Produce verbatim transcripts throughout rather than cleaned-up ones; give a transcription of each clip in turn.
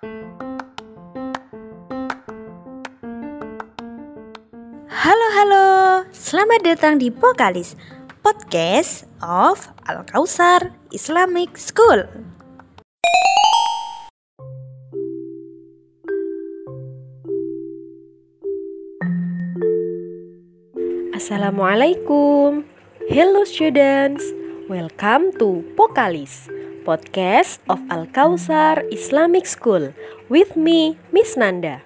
Halo halo, selamat datang di Pokalis, podcast of Al-Kausar Islamic School. Assalamualaikum. Hello students, welcome to Pokalis, podcast of Al-Kausar Islamic School with me, Miss Nanda.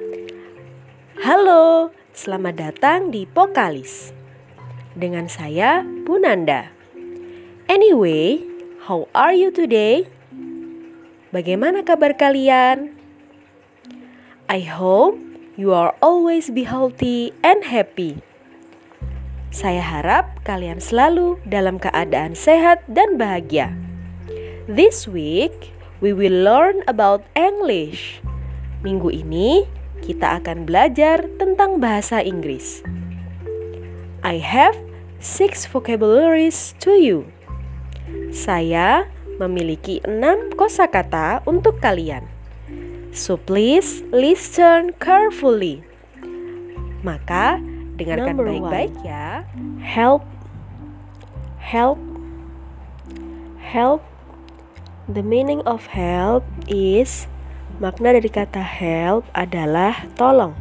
Halo, selamat datang di Pokalis. Dengan saya, Bu Nanda. Anyway, how are you today? Bagaimana kabar kalian? I hope you are always be healthy and happy. Saya harap kalian selalu dalam keadaan sehat dan bahagia. This week, we will learn about English. Minggu ini, kita akan belajar tentang bahasa Inggris. I have six vocabularies to you. Saya memiliki enam kosakata untuk kalian. So please listen carefully. Maka, dengarkan Number baik-baik ya. Help, help, help. The meaning of help is, makna dari kata help adalah tolong.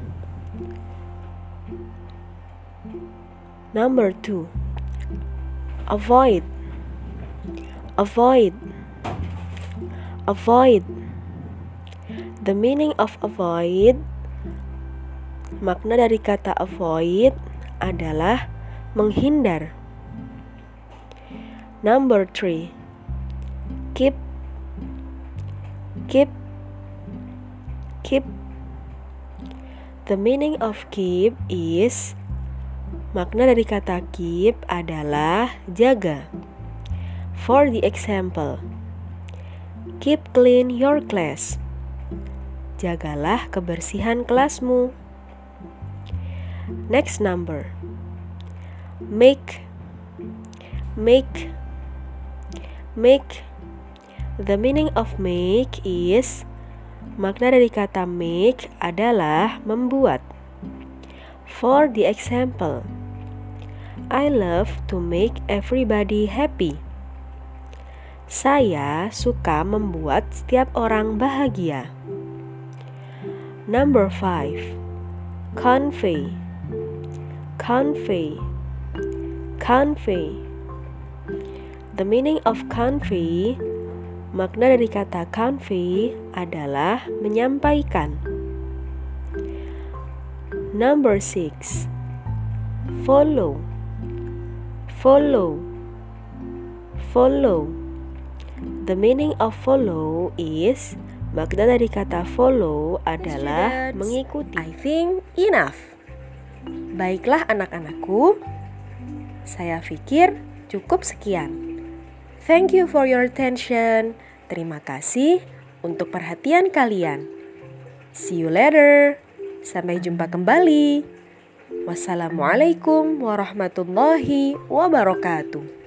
Number two, avoid, avoid, avoid. The meaning of avoid, makna dari kata avoid adalah menghindar. Number three, keep, keep, keep. The meaning of keep is, makna dari kata keep adalah jaga. For the example, keep clean your class. Jagalah kebersihan kelasmu. Next number, make, make, make. The meaning of make is, makna dari kata make adalah membuat. For the example, I love to make everybody happy. Saya suka membuat setiap orang bahagia. Number five, convey, convey, convey. The meaning of convey, makna dari kata convey adalah menyampaikan. Number six, follow, follow, follow. The meaning of follow is, makna dari kata follow adalah Students, mengikuti. I think enough. Baiklah anak-anakku, saya pikir cukup sekian. Thank you for your attention. Terima kasih untuk perhatian kalian. See you later. Sampai jumpa kembali. Wassalamualaikum warahmatullahi wabarakatuh.